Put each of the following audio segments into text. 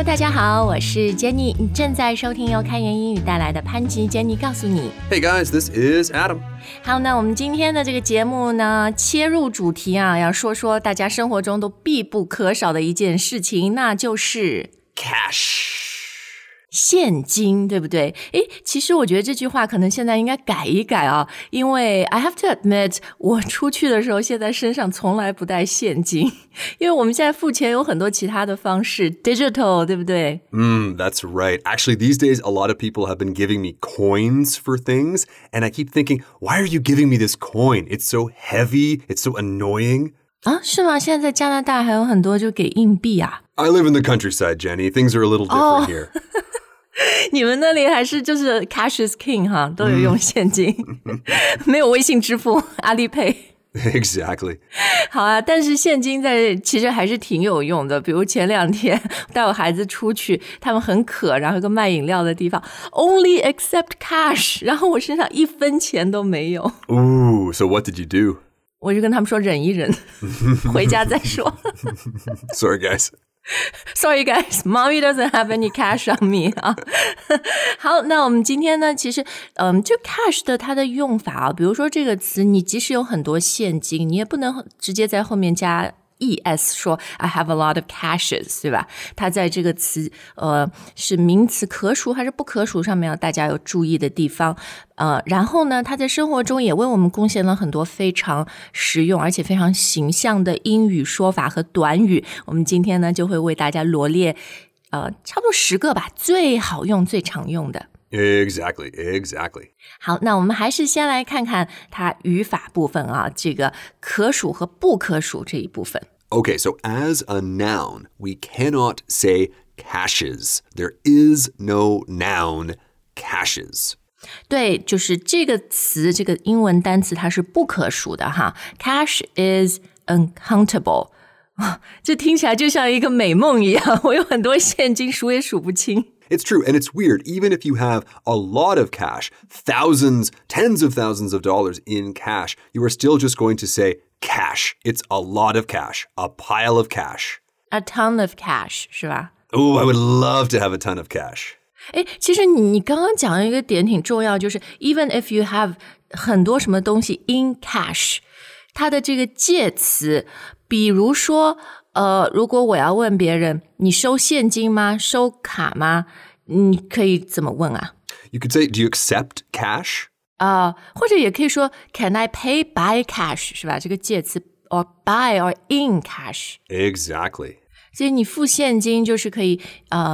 大家好，我是 Jenny， 你正在收听由开言英语带来的潘吉 Jenny 告诉你。 Hey guys, this is Adam. 好，那我们今天的这个节目呢，切入主题啊，要说说大家生活中都必不可少的一件事情，那就是 Cash. 现金，对不对？诶，其实我觉得这句话可能现在应该改一改啊，因为 I have to admit， 我出去的时候现在身上从来不带现金，因为我们现在付钱有很多其他的方式 ，digital， 对不对 That's right. Actually, these days, a lot of people have been giving me coins for things, and I keep thinking, why are you giving me this coin? It's so heavy, it's so annoying. 啊，是吗？现在在加拿大还有很多就给硬币啊。 I live in the countryside, Jenny. Things are a little different here. 你们那里还是就是 cash is king 哈，都有用现金，没有微信支付、阿里 pay。 Exactly. 好啊，但是现金其实还是挺有用的。比如前2天带我孩子出去，他们很渴，然后有个卖饮料的地方 ，only accept cash， 然后我身上1分钱都没有。 Ooh, so what did you do? 我就跟他们说忍一忍，回家再说。 Sorry, guys. Sorry guys, mommy doesn't have any cash on me 啊。好，那我们今天呢，其实就 cash 的它的用法啊，比如说这个词，你即使有很多现金，你也不能直接在后面加es 说 I have a lot of cashes， 对吧？它在这个词是名词可数还是不可数上面大家有注意的地方。然后呢，它在生活中也为我们贡献了很多非常实用而且非常形象的英语说法和短语。我们今天呢就会为大家罗列差不多10个吧，最好用最常用的。 Exactly. 好，那我们还是先来看看它语法部分啊，这个可数和不可数这一部分。 Okay, so as a noun, we cannot say cashes. There is no noun cashes. 对，就是这个词，这个英文单词它是不可数的哈。Cash is uncountable。这听起来就像一个美梦一样，我有很多现金数也数不清。 It's true, and it's weird. Even if you have a lot of cash, thousands, tens of thousands of dollars in cash, you are still just going to say cash. It's a lot of cash, a pile of cash. A ton of cash 是吧？ Oh, I would love to have a ton of cash. 诶，其实你刚刚讲的一个点挺重要，就是 even if you have 很多什么东西 in cash， 它的这个介词，比如说如果我要问别人你收现金吗？收卡吗？你可以怎么问啊？ You could say, do you accept cash? 或者也可以说 Can I pay by cash 是吧？这个介词 or by or in cash。 Exactly. 所以你付现金就是可以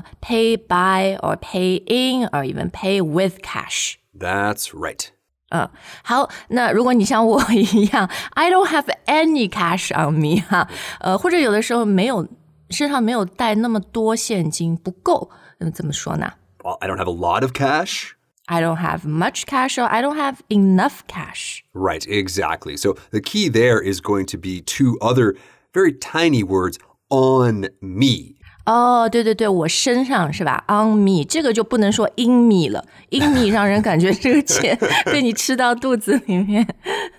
pay by or pay in or even pay with cash。 That's right. 好，那如果你像我一样 I don't have any cash on me 哈，或者有的时候身上没有带那么多现金，不够，怎么说呢？ Well, I don't have a lot of cash. I don't have much cash or I don't have enough cash. Right, exactly. So the key there is going to be 2 other very tiny words, on me. 对对对，我身上是吧 ？On me， 这个就不能说 in me 了 ，in me 让人感觉这个钱被你吃到肚子里面。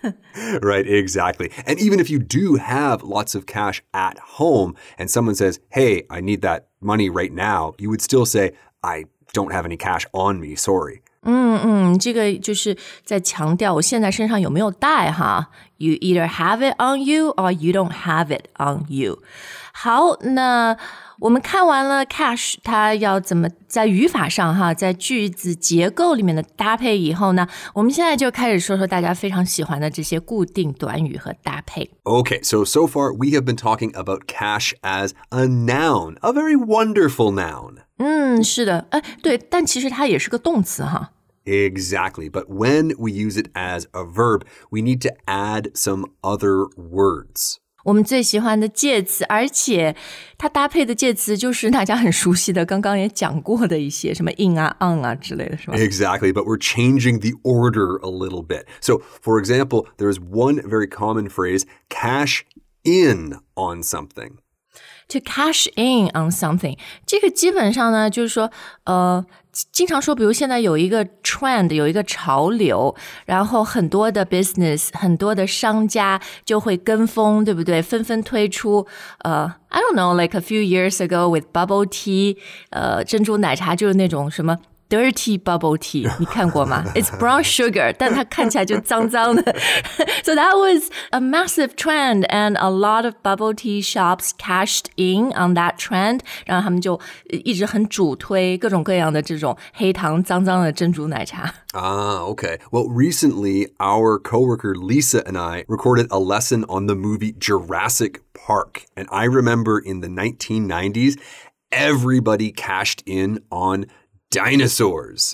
Right, exactly. And even if you do have lots of cash at home and someone says, hey, I need that money right now, you would still say, I don't have any cash on me, sorry. 这个就是在强调我现在身上有没有带哈。You either have it on you or you don't have it on you. 好，那我们看完了 cash 它要怎么在语法上哈，在句子结构里面的搭配以后呢，我们现在就开始说说大家非常喜欢的这些固定短语和搭配。 Okay, so far we have been talking about cash as a noun, a very wonderful noun. 是的，对，但其实它也是个动词哈。 Exactly, but when we use it as a verb, we need to add some other words. 我们最喜欢的介词，而且它搭配的介词就是大家很熟悉的，刚刚也讲过的一些什么 in 啊 on 啊之类的，是吧？ Exactly, but we're changing the order a little bit. So, for example, there's one very common phrase, cash in on something. To cash in on something， 这个基本上呢，就是说，经常说，比如现在有一个 trend， 有一个潮流，然后很多的 business， 很多的商家就会跟风，对不对？纷纷推出I don't know, like a few years ago with bubble tea， 珍珠奶茶就是那种什么dirty bubble tea 你看过吗 It's brown sugar 但它看起来就脏脏的 So that was a massive trend and a lot of bubble tea shops cashed in on that trend 然后他们就一直很主推各种各样的这种黑糖脏脏的珍珠奶茶 okay. Well, recently, our coworker Lisa and I recorded a lesson on the movie Jurassic Park. And I remember in the 1990s, everybody cashed in on dinosaurs.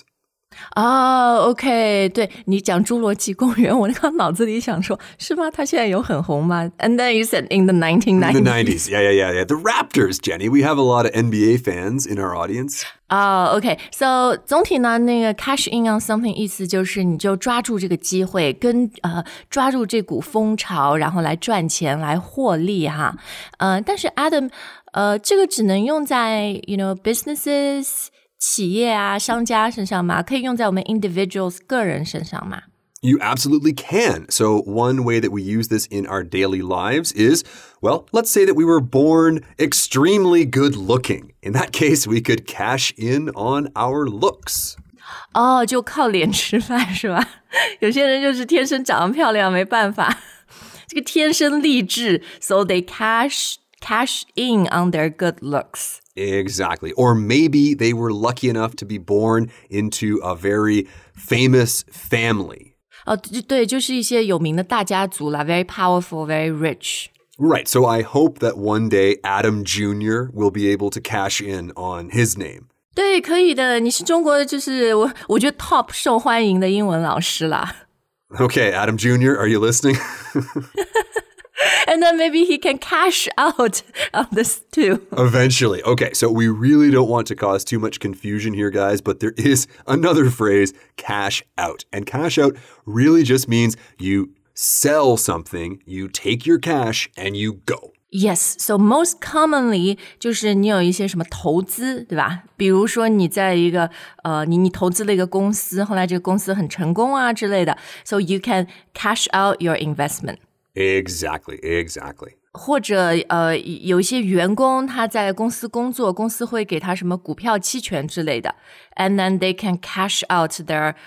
OK 对你讲侏罗纪公园我刚脑子里想说是吗它现在有很红吗 And then you said in the 1990s In the 90s, yeah. The Raptors, Jenny. We have a lot of NBA fans in our audience. OK So 总体呢那个 cash in on something 意思就是你就抓住这个机会跟抓住这股风潮然后来赚钱来获利哈但是 Adam 这个只能用在 you know businesses企业啊商家身上吗可以用在我们 individuals 个人身上吗 You absolutely can. So one way that we use this in our daily lives is, well, let's say that we were born extremely good looking. In that case, we could cash in on our looks. 就靠脸吃饭是吧有些人就是天生长得漂亮没办法这个天生丽质 So they cash in on their good looks Exactly. Or maybe they were lucky enough to be born into a very famous family. 对就是一些有名的大家族啦 Very powerful, very rich Right. So I hope that one day Adam Jr. will be able to cash in on his name. 对可以的你是中国的就是我觉得 top 受欢迎的英文老师啦 Okay, Adam Jr., are you listening? And then maybe he can cash out of this too. Eventually. Okay, so we really don't want to cause too much confusion here, guys, but there is another phrase, cash out. And cash out really just means you sell something, you take your cash, and you go. Yes, so most commonly 就是你有一些什么投资，对吧？比如说你在一个你投资了一个公司，后来这个公司很成功啊之类的 So you can cash out your investment. Exactly. 或者有一些员工他在公司工作，公司会给他什么股票期权之类的 And then they can cash out their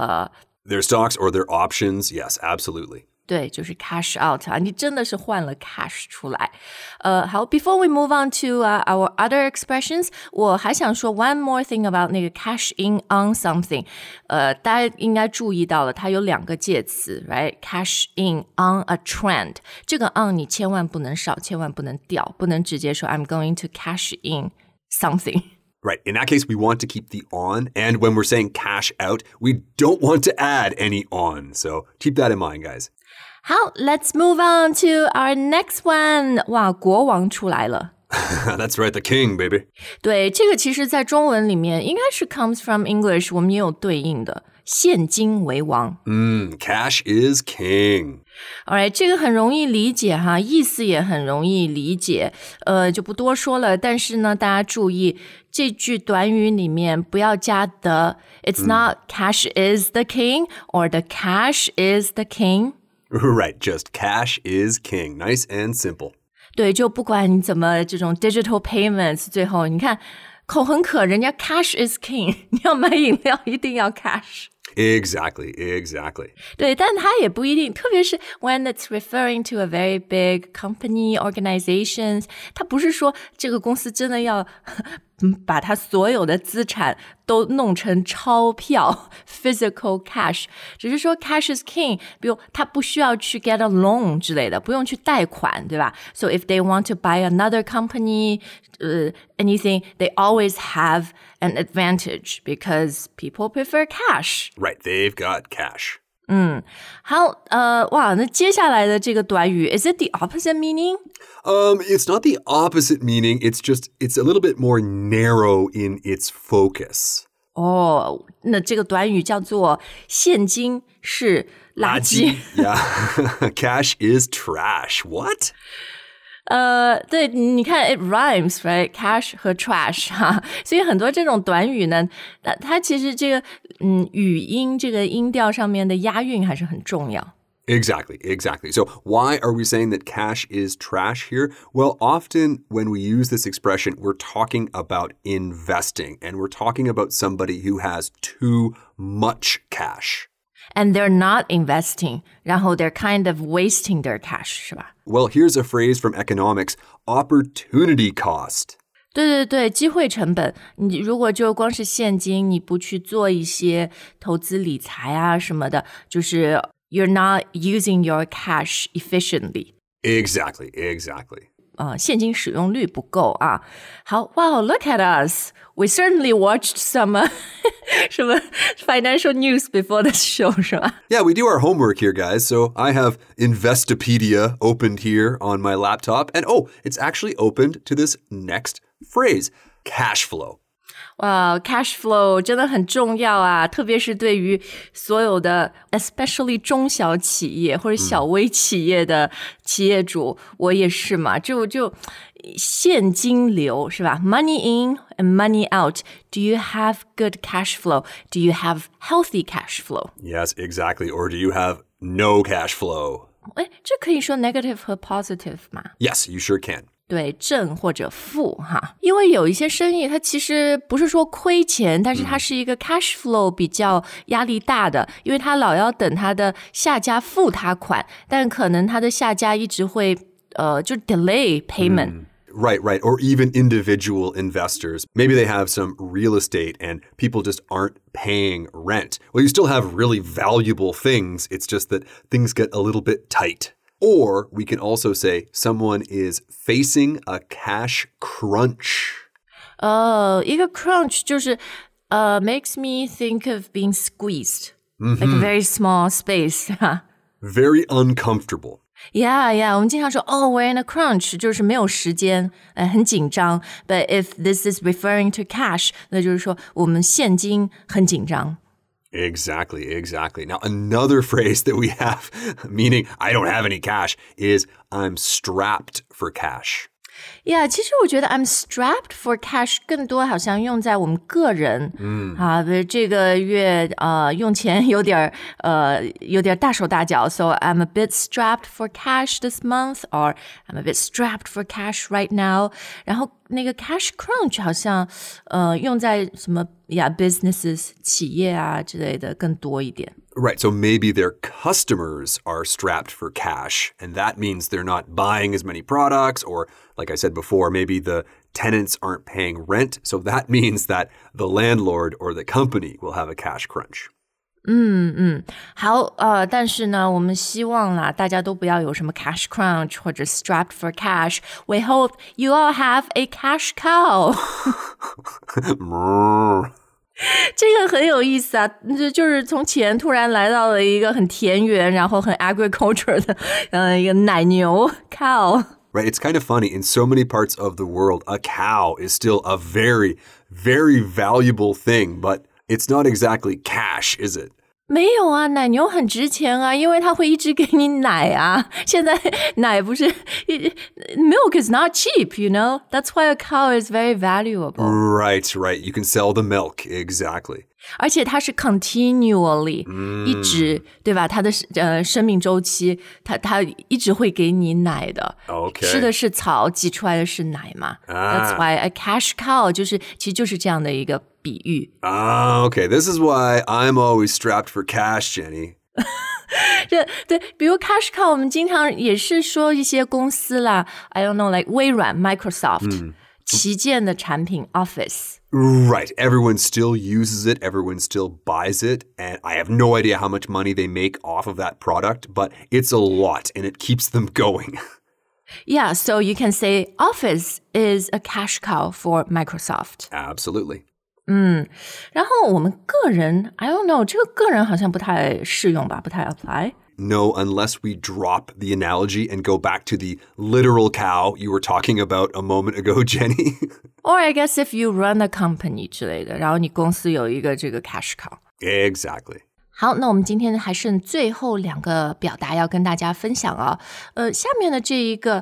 stocks or their options. Yes, absolutely. 对，就是 cash out 啊，你真的是换了 cash 出来。好 before we move on to our other expressions, 我还想说 one more thing about 那个 cash in on something. 大家应该注意到了，它有两个介词 right? Cash in on a trend. 这个 on 你千万不能少，千万不能掉，不能直接说 I'm going to cash in something. Right. In that case, we want to keep the on. And when we're saying cash out, we don't want to add any on. So keep that in mind, guys. 好 let's move on to our next one. 哇，国王出来了。 That's right, the king, baby. 对，这个其实在中文里面应该是 comes from English, 我们也有对应的，现金为王。 Cash is king. Alright, 这个很容易理解哈，意思也很容易理解，就不多说了。但是呢，大家注意这句短语里面不要加 the. It's not cash is the king or the cash is the king. Right, just cash is king. Nice and simple. 对，就不管你怎么这种 digital payments， 最后你看口很渴，人家 cash is king， 你要买饮料一定要 cash。 Exactly. 对，但它也不一定，特别是 when it's referring to a very big company, organizations， 它不是说这个公司真的要把它所有的资产都弄成钞票 physical cash， 只是说 cash is king， 比如他不需要去 get a loan 之类的，不用去贷款，对吧？ So if they want to buy another company, anything, they always have an advantage because people prefer cash. Right, they've got cash. 好，哇，那接下来的这个短语 is it the opposite meaning? It's not the opposite meaning. It's a little bit more narrow in its focus. 那这个短语叫做现金是垃圾。 Yeah. Cash is trash. What? 对，你看 it rhymes, right? Cash 和 trash 哈，所以很多这种短语呢，它其实这个语音这个音调上面的押韵还是很重要。 Exactly, exactly. So why are we saying that cash is trash here? Well, often when we use this expression, we're talking about investing and we're talking about somebody who has too much cash. And they're not investing, 然后 they're kind of wasting their cash, 是吧？ Well, here's a phrase from economics, opportunity cost. 对对对，机会成本，你如果就光是现金，你不去做一些投资理财啊什么的，就是 you're not using your cash efficiently. Exactly, exactly. 现金使用率不够啊。好 wow, look at us. We certainly watched some 什么 financial news before the show, 是吧？ Yeah, we do our homework here, guys. So I have Investopedia opened here on my laptop. And it's actually opened to this next phrase, cash flow. 哇 cash flow 真的很重要啊，特别是对于所有的 especially 中小企业或者小微企业的企业主，我也是嘛，就现金流是吧？ Money in and money out. Do you have good cash flow? Do you have healthy cash flow? Yes, exactly. Or do you have no cash flow? 这可以说 negative 和 positive 吗？ Yes, you sure can. 对，正或者负哈，因为有一些生意它其实不是说亏钱，但是它是一个 cash flow 比较压力大的，因为它老要等它的下家付他款，但可能它的下家一直会就 delay payment。 Right. Or even individual investors. Maybe they have some real estate and people just aren't paying rent. Well, you still have really valuable things. It's just that things get a little bit tight. Or we can also say someone is facing a cash crunch. 一个 crunch 就是makes me think of being squeezed, like a very small space. Very uncomfortable. Yeah, 我们经常说we're in a crunch, 就是没有时间，很紧张。But if this is referring to cash, 那就是说我们现金很紧张。 Exactly. Now, another phrase that we have, meaning I don't have any cash, is I'm strapped for cash. Yeah, 其实我觉得 I'm strapped for cash 更多好像用在我们个人，比如这个月用钱有点大手大脚 so I'm a bit strapped for cash this month or I'm a bit strapped for cash right now. 然后那个 cash crunch 好像用在什么businesses 企业啊之类的更多一点。 Right, so maybe their customers are strapped for cash, and that means they're not buying as many products, or like I said before, maybe the tenants aren't paying rent, so that means that the landlord or the company will have a cash crunch. 好，但是呢，我们希望啦，大家都不要有什么 cash crunch 或者 strapped for cash. We hope you all have a cash cow. 这个很有意思啊，就是从前突然来到了一个很田园，然后很 agriculture 的一个奶牛 cow. Right, it's kind of funny. In so many parts of the world, a cow is still a very, very valuable thing, but it's not exactly cash, is it? 没有啊，奶牛很值钱啊，因为它会一直给你奶啊。现在奶不是 milk is not cheap, you know? That's why a cow is very valuable. Right. You can sell the milk, exactly. 而且它是 continually 一直对吧？它的生命周期，它一直会给你奶的。 Okay. 吃的是草，挤出来的是奶嘛。That's why a cash cow 其实就是这样的一个比喻。 Okay. This is why I'm always strapped for cash, Jenny. 对，比如 cash cow， 我们经常也是说一些公司啦 ，I don't know, like 微软 Microsoft，旗舰的产品 Office。 Right. Everyone still uses it. Everyone still buys it. And I have no idea how much money they make off of that product, but it's a lot and it keeps them going. Yeah, so you can say Office is a cash cow for Microsoft. Absolutely. 然后我们个人 I don't know, 这个个人好像不太适用吧，不太 apply. No, unless we drop the analogy and go back to the literal cow you were talking about a moment ago, Jenny. Or I guess if you run a company 之类的，然后你公司有一个这个 cash cow. Exactly. 好，那我们今天还剩最后2个表达要跟大家分享啊。下面的这一个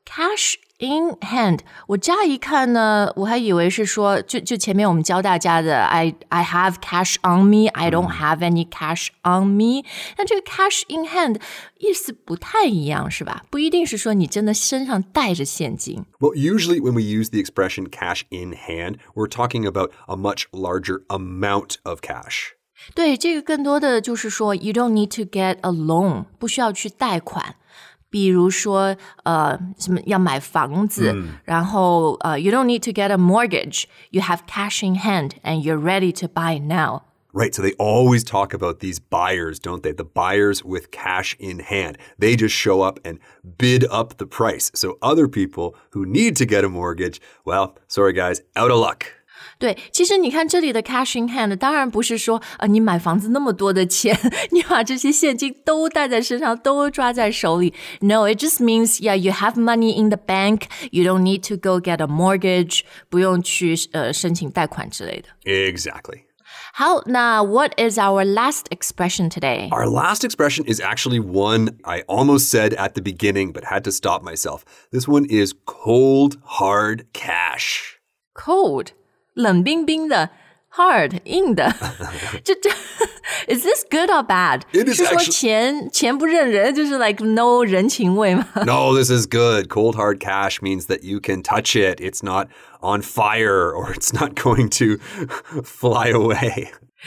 cash in hand， 我乍一看呢，我还以为是说，就前面我们教大家的 I have cash on me, I don't have any cash on me。但这个 cash in hand 意思不太一样，是吧？不一定是说你真的身上带着现金。 Well, usually when we use the expression cash in hand, we're talking about a much larger amount of cash. 对，这个更多的就是说 you don't need to get a loan， 不需要去贷款。比如说什么要买房子，然后you don't need to get a mortgage. You have cash in hand and you're ready to buy now. Right, so they always talk about these buyers, don't they? The buyers with cash in hand. They just show up and bid up the price. So other people who need to get a mortgage, well, sorry guys, out of luck. 对，其实你看这里的 cash in hand 当然不是说你买房子那么多的钱你把这些现金都带在身上都抓在手里 No, it just means yeah, you have money in the bank You don't need to go get a mortgage 不用去申请贷款之类的 Exactly. 好，那 what is our last expression today? Our last expression is actually one I almost said at the beginning but had to stop myself. This one is cold, hard cash. Cold冷冰冰的 hard 硬的这Is this good or bad? It is 是说钱不认人就是 like no 人情味吗 No, this is good. Cold, hard cash means that you can touch it. It's not on fire or it's not going to fly away.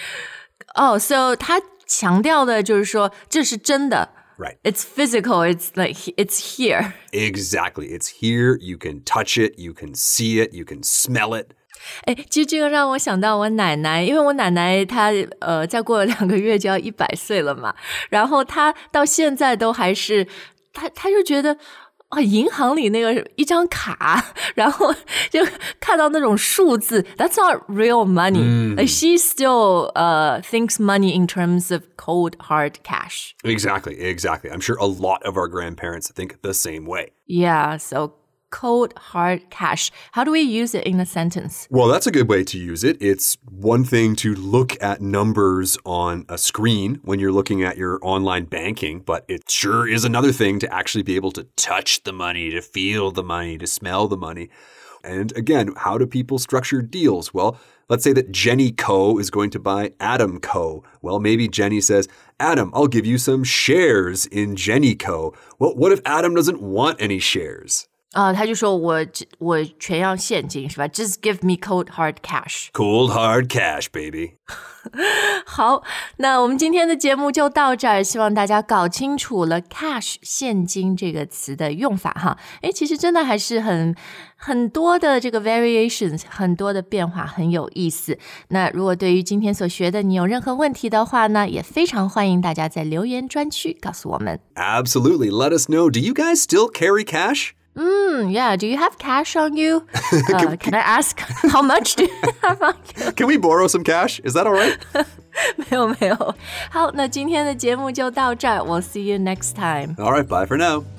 Oh, so 他强调的就是说这是真的 Right. It's physical. It's like it's here. Exactly. It's here. You can touch it. You can see it. You can smell it. 哎，其实这个让我想到我奶奶，因为我奶奶她再过了2个月就要100岁了嘛，然后她到现在都还是，她就觉得银行里那个一张卡，然后就看到那种数字 ，That's not real money. Like she still thinks money in terms of cold hard cash. Exactly. I'm sure a lot of our grandparents think the same way. Yeah, so cold hard cash. How do we use it in a sentence? Well, that's a good way to use it. It's one thing to look at numbers on a screen when you're looking at your online banking, but it sure is another thing to actually be able to touch the money, to feel the money, to smell the money. And again, how do people structure deals? Well, let's say that Jenny Co. is going to buy Adam Co. Well, maybe Jenny says, Adam, I'll give you some shares in Jenny Co. Well, what if Adam doesn't want any shares? 他就说我全要现金是吧 Just give me cold hard cash. Cold hard cash, baby. 好，那我们今天的节目就到这儿，希望大家搞清楚了 cash 现金这个词的用法哈。诶，其实真的还是很多的这个 variations， 很多的变化，很有意思。那如果对于今天所学的你有任何问题的话呢，也非常欢迎大家在留言专区告诉我们。 Absolutely. Let us know. Do you guys still carry cash? Yeah. Do you have cash on you? Can I ask how much do you have on you? Can we borrow some cash? Is that all right? 没有。好，那今天的节目就到这儿。We'll see you next time. All right. Bye for now.